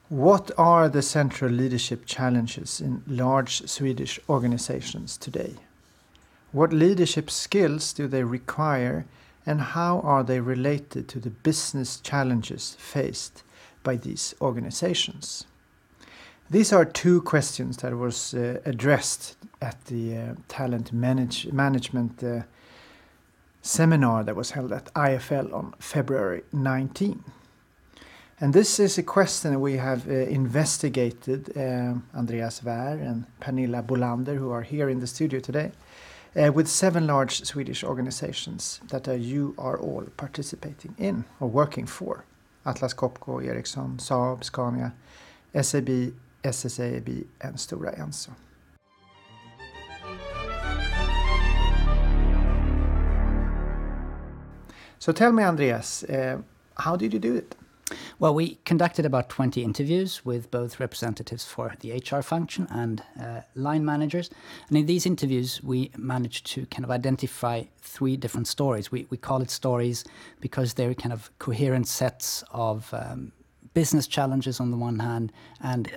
What are the central leadership challenges in large Swedish organizations today? What leadership skills do they require, and how are they related to the business challenges faced by these organizations? These are two questions that was addressed at the talent management seminar that was held at IFL on February 19. And this is a question we have investigated, Andreas Wär and Pernilla Bolander, who are here in the studio today, with 7 large Swedish organizations that you are all participating in or working for. Atlas Copco, Ericsson, Saab, Scania, SAB, SSAB and Stora Enso. So tell me, Andreas, how did you do it? Well, we conducted about 20 interviews with both representatives for the HR function and line managers. And in these interviews, we managed to kind of identify 3 different stories. We call it stories because they're kind of coherent sets of business challenges on the one hand and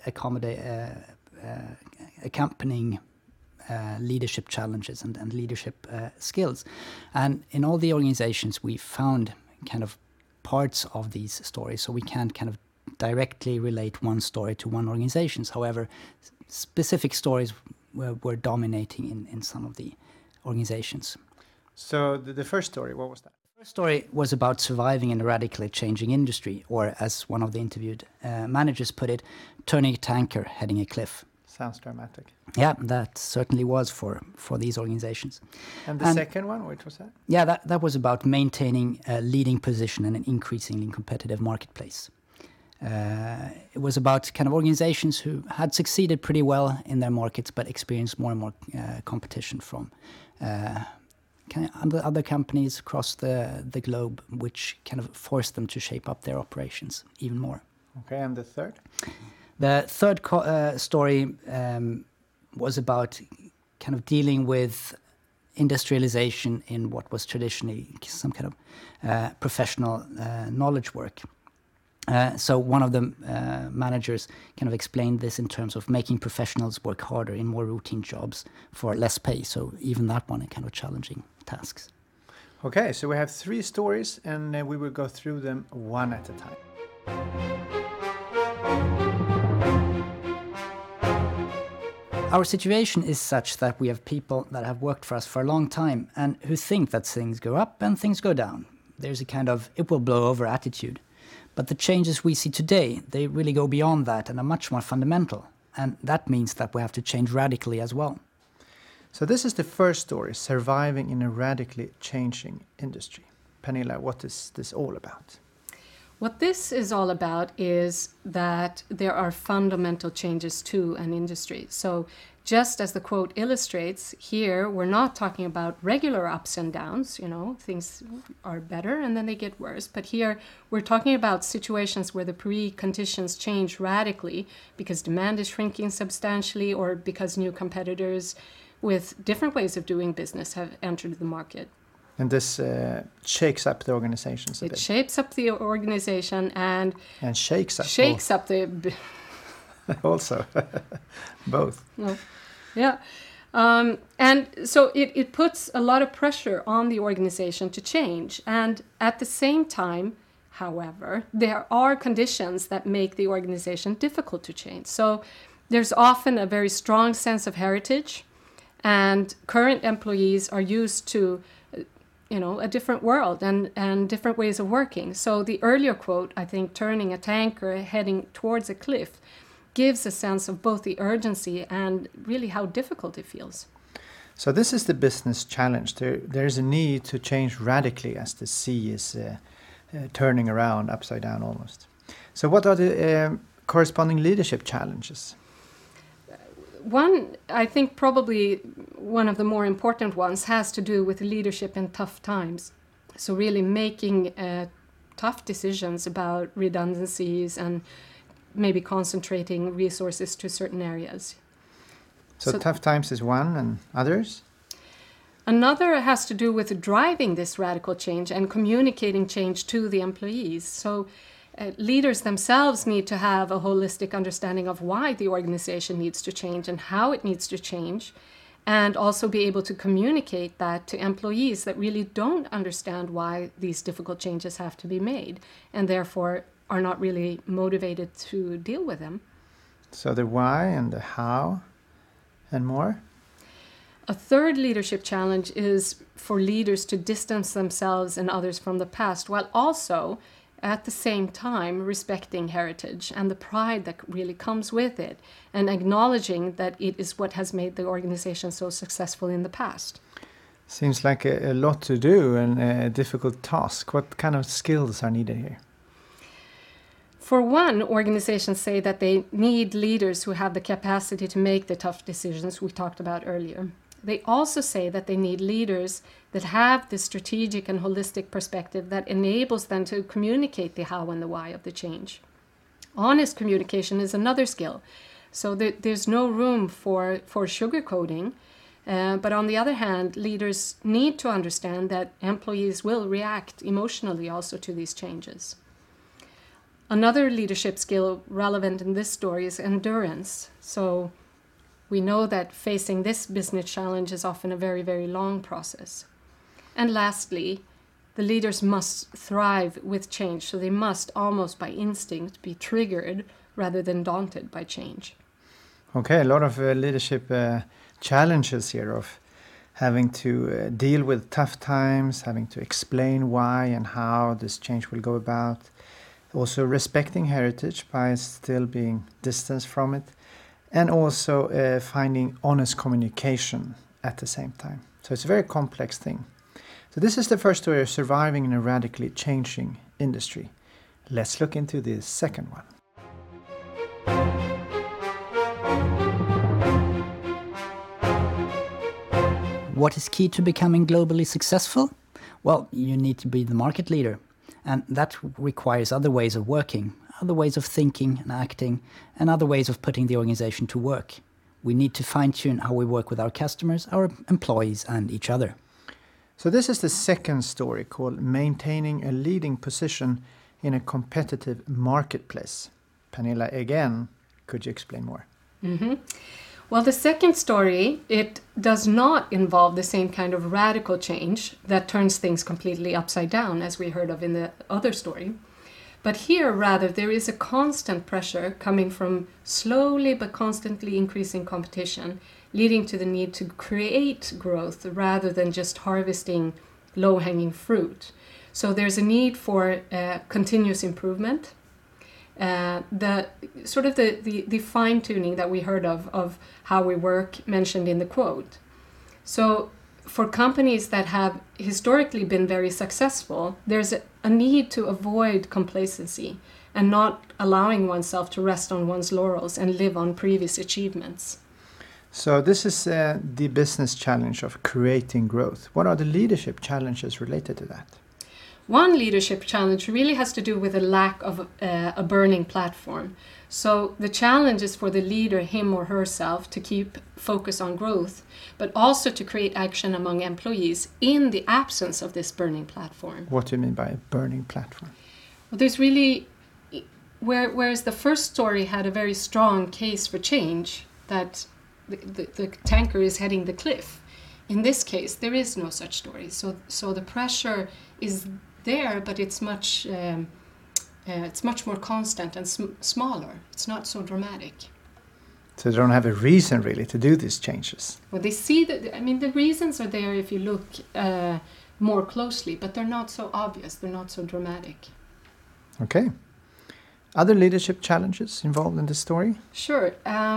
accompanying leadership challenges and leadership skills. And in all the organizations, we found kind of parts of these stories, so we can't kind of directly relate one story to one organization. However, specific stories were dominating in some of the organizations. So the first story, what was that? The first story was about surviving in a radically changing industry, or as one of the interviewed managers put it, turning a tanker heading a cliff. Sounds dramatic. Yeah, that certainly was for these organizations. And the second one, which was that? Yeah, that was about maintaining a leading position in an increasingly competitive marketplace. It was about kind of organizations who had succeeded pretty well in their markets, but experienced more and more competition from kind of other companies across the globe, which kind of forced them to shape up their operations even more. Okay, and the third? The third story was about kind of dealing with industrialization in what was traditionally some kind of professional knowledge work. So one of the managers kind of explained this in terms of making professionals work harder in more routine jobs for less pay. So even that one, kind of challenging tasks. Okay, so we have 3 stories and we will go through them one at a time. Our situation is such that we have people that have worked for us for a long time and who think that things go up and things go down. There's a kind of it will blow over attitude. But the changes we see today, they really go beyond that and are much more fundamental. And that means that we have to change radically as well. So this is the first story, surviving in a radically changing industry. Pernilla, what is this all about? What this is all about is that there are fundamental changes to an industry. So just as the quote illustrates, here we're not talking about regular ups and downs, things are better and then they get worse. But here we're talking about situations where the preconditions change radically because demand is shrinking substantially or because new competitors with different ways of doing business have entered the market. And this shakes up the organizations a bit. It shapes up the organization and shakes up. Shakes up the... Also, both. No. Yeah. And so it puts a lot of pressure on the organization to change. And at the same time, however, there are conditions that make the organization difficult to change. So there's often a very strong sense of heritage, and current employees are used to a different world and different ways of working. So the earlier quote, I think, turning a tanker heading towards a cliff, gives a sense of both the urgency and really how difficult it feels. So this is the business challenge. There's a need to change radically as the sea is turning around upside down almost. So what are the corresponding leadership challenges? One, I think probably one of the more important ones has to do with leadership in tough times. So really making tough decisions about redundancies and maybe concentrating resources to certain areas. So tough times is one, and others? Another has to do with driving this radical change and communicating change to the employees. So leaders themselves need to have a holistic understanding of why the organization needs to change and how it needs to change, and also be able to communicate that to employees that really don't understand why these difficult changes have to be made, and therefore are not really motivated to deal with them. So the why and the how and more? A third leadership challenge is for leaders to distance themselves and others from the past, while also at the same time respecting heritage and the pride that really comes with it, and acknowledging that it is what has made the organization so successful in the past. Seems like a lot to do and a difficult task. What kind of skills are needed here? For one, organizations say that they need leaders who have the capacity to make the tough decisions we talked about earlier. They also say that they need leaders that have the strategic and holistic perspective that enables them to communicate the how and the why of the change. Honest communication is another skill, so there's no room for sugarcoating. But on the other hand, leaders need to understand that employees will react emotionally also to these changes. Another leadership skill relevant in this story is endurance. So we know that facing this business challenge is often a very, very long process. And lastly, the leaders must thrive with change, so they must almost by instinct be triggered rather than daunted by change. Okay, a lot of leadership challenges here of having to deal with tough times, having to explain why and how this change will go about. Also respecting heritage by still being distanced from it, and also finding honest communication at the same time. So it's a very complex thing. So this is the first story of surviving in a radically changing industry. Let's look into the second one. What is key to becoming globally successful? Well, you need to be the market leader. And that requires other ways of working, other ways of thinking and acting, and other ways of putting the organization to work. We need to fine-tune how we work with our customers, our employees, and each other. So this is the second story called Maintaining a Leading Position in a Competitive Marketplace. Pernilla, again, could you explain more? Mm-hmm. Well, the second story, it does not involve the same kind of radical change that turns things completely upside down, as we heard of in the other story. But here, rather, there is a constant pressure coming from slowly but constantly increasing competition, leading to the need to create growth rather than just harvesting low-hanging fruit. So there's a need for continuous improvement. The fine-tuning that we heard of how we work mentioned in the quote. So for companies that have historically been very successful, there's a need to avoid complacency and not allowing oneself to rest on one's laurels and live on previous achievements. So this is the business challenge of creating growth. What are the leadership challenges related to that? One leadership challenge really has to do with a lack of a burning platform. So the challenge is for the leader, him or herself, to keep focus on growth, but also to create action among employees in the absence of this burning platform. What do you mean by a burning platform? Well, there's really, whereas the first story had a very strong case for change, that the tanker is heading the cliff. In this case, there is no such story. So the pressure is there, but it's much more constant and smaller. It's not so dramatic. So they don't have a reason really to do these changes. Well, they see that. I mean, the reasons are there if you look more closely, but they're not so obvious. They're not so dramatic. Okay. Other leadership challenges involved in this story? Sure.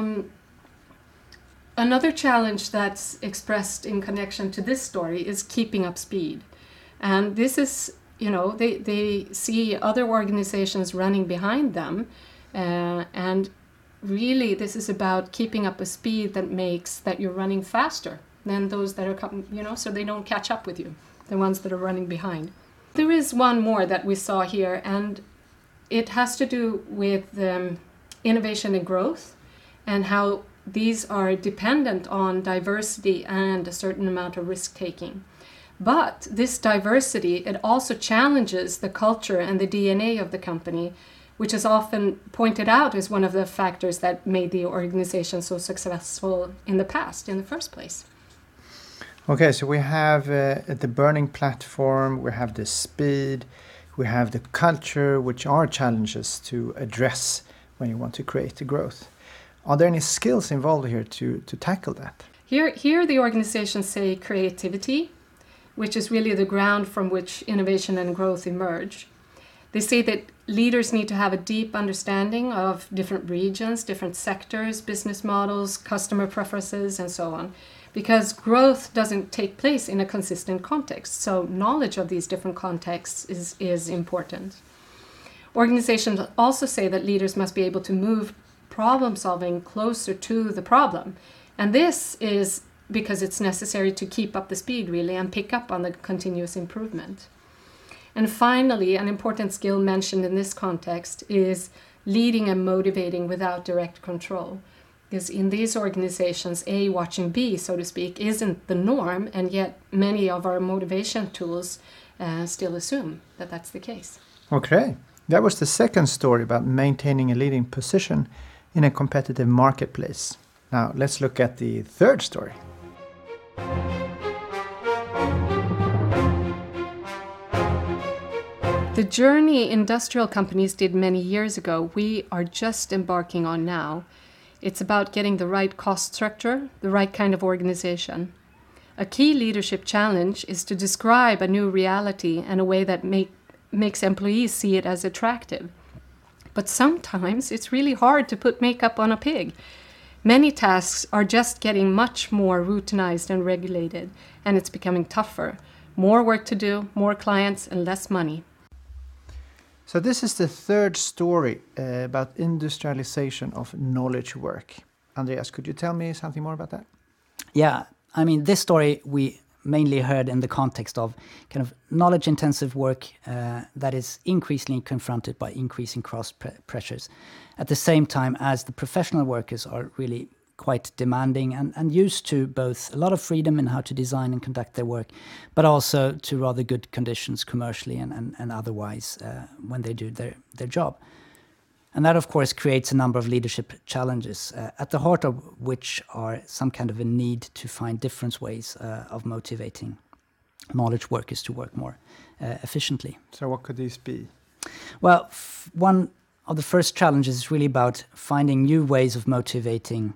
Another challenge that's expressed in connection to this story is keeping up speed. And this is, they see other organizations running behind them. And really, this is about keeping up a speed that makes that you're running faster than those that are coming, so they don't catch up with you, the ones that are running behind. There is one more that we saw here, and it has to do with innovation and growth and how these are dependent on diversity and a certain amount of risk-taking. But this diversity, it also challenges the culture and the DNA of the company, which is often pointed out as one of the factors that made the organization so successful in the past, in the first place. Okay, so we have the burning platform, we have the speed, we have the culture, which are challenges to address when you want to create the growth. Are there any skills involved here to tackle that? Here the organizations say creativity, which is really the ground from which innovation and growth emerge. They say that leaders need to have a deep understanding of different regions, different sectors, business models, customer preferences, and so on, because growth doesn't take place in a consistent context. So knowledge of these different contexts is important. Organizations also say that leaders must be able to move problem solving closer to the problem. And this is because it's necessary to keep up the speed, really, and pick up on the continuous improvement. And finally, an important skill mentioned in this context is leading and motivating without direct control. Because in these organizations, A watching B, so to speak, isn't the norm, and yet many of our motivation tools still assume that that's the case. Okay, that was the second story about maintaining a leading position in a competitive marketplace. Now let's look at the third story. The journey industrial companies did many years ago, we are just embarking on now. It's about getting the right cost structure, the right kind of organization. A key leadership challenge is to describe a new reality in a way that makes employees see it as attractive. But sometimes it's really hard to put makeup on a pig. Many tasks are just getting much more routinized and regulated, and it's becoming tougher. More work to do, more clients, and less money. So this is the third story about industrialization of knowledge work. Andreas, could you tell me something more about that? Yeah, I mean, this story we mainly heard in the context of kind of knowledge-intensive work that is increasingly confronted by increasing cross pressures. At the same time as the professional workers are really quite demanding and used to both a lot of freedom in how to design and conduct their work, but also to rather good conditions commercially and otherwise when they do their job. And that, of course, creates a number of leadership challenges, at the heart of which are some kind of a need to find different ways of motivating knowledge workers to work more efficiently. So what could these be? Well, one of the first challenges is really about finding new ways of motivating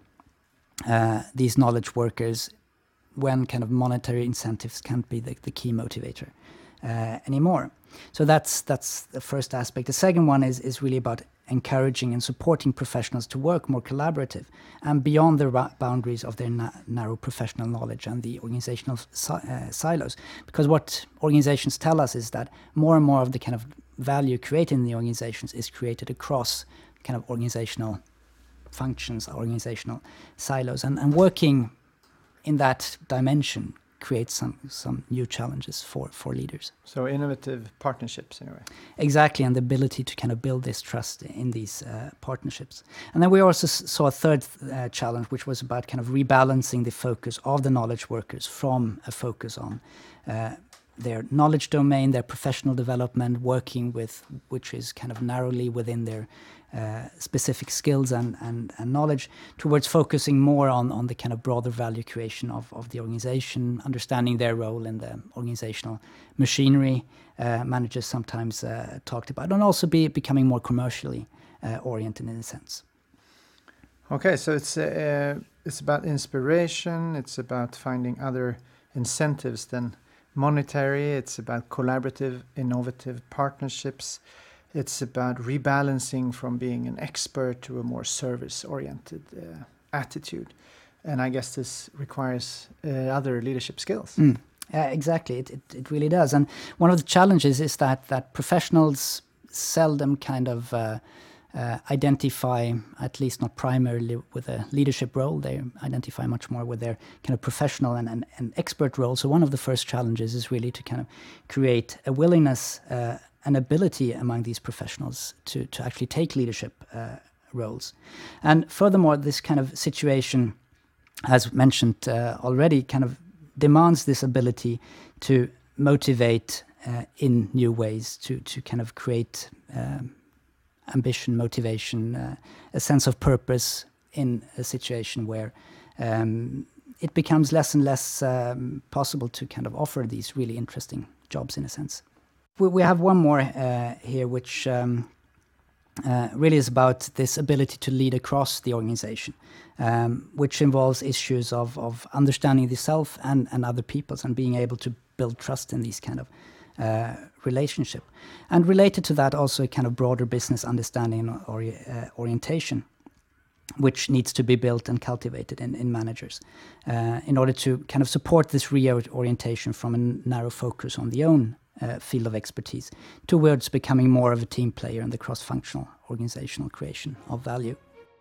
these knowledge workers when kind of monetary incentives can't be the key motivator anymore. So that's the first aspect. The second one is really about encouraging and supporting professionals to work more collaborative and beyond the boundaries of their narrow professional knowledge and the organizational silos. Because what organizations tell us is that more and more of the kind of value created in the organizations is created across kind of organizational functions, organizational silos, and working in that dimension creates some new challenges for leaders. So innovative partnerships in a way. Exactly, and the ability to kind of build this trust in these partnerships. And then we also saw a third challenge, which was about kind of rebalancing the focus of the knowledge workers from a focus on their knowledge domain, their professional development, working with, which is kind of narrowly within their specific skills and knowledge, towards focusing more on the kind of broader value creation of the organization, understanding their role in the organizational machinery, managers sometimes talked about, and also becoming more commercially oriented in a sense. Okay, so it's about inspiration, it's about finding other incentives than monetary, it's about collaborative, innovative partnerships. It's about rebalancing from being an expert to a more service-oriented attitude. And I guess this requires other leadership skills. Exactly, it really does. And one of the challenges is that professionals seldom kind of identify, at least not primarily with a leadership role. They identify much more with their kind of professional and expert role. So one of the first challenges is really to kind of create a willingness an ability among these professionals to actually take leadership roles. And furthermore, this kind of situation, as mentioned already, kind of demands this ability to motivate in new ways, to kind of create ambition, motivation, a sense of purpose in a situation where it becomes less and less possible to kind of offer these really interesting jobs in a sense. We have one more here, which really is about this ability to lead across the organization, which involves issues of understanding the self and other people's, and being able to build trust in these kind of relationship. And related to that, also a kind of broader business understanding or orientation, which needs to be built and cultivated in managers in order to kind of support this reorientation from a narrow focus on the own field of expertise towards becoming more of a team player in the cross-functional organizational creation of value.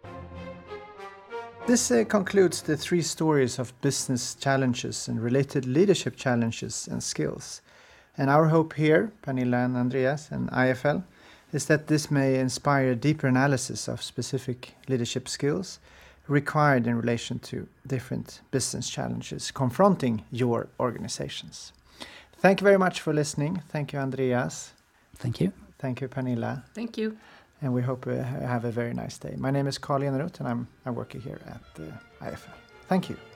This concludes the 3 stories of business challenges and related leadership challenges and skills. And our hope here, Pernilla and Andreas and IFL, is that this may inspire deeper analysis of specific leadership skills required in relation to different business challenges confronting your organizations. Thank you very much for listening. Thank you, Andreas. Thank you. Thank you, Pernilla. Thank you. And we hope you have a very nice day. My name is Carl Eneroth and I'm working here at IFL. Thank you.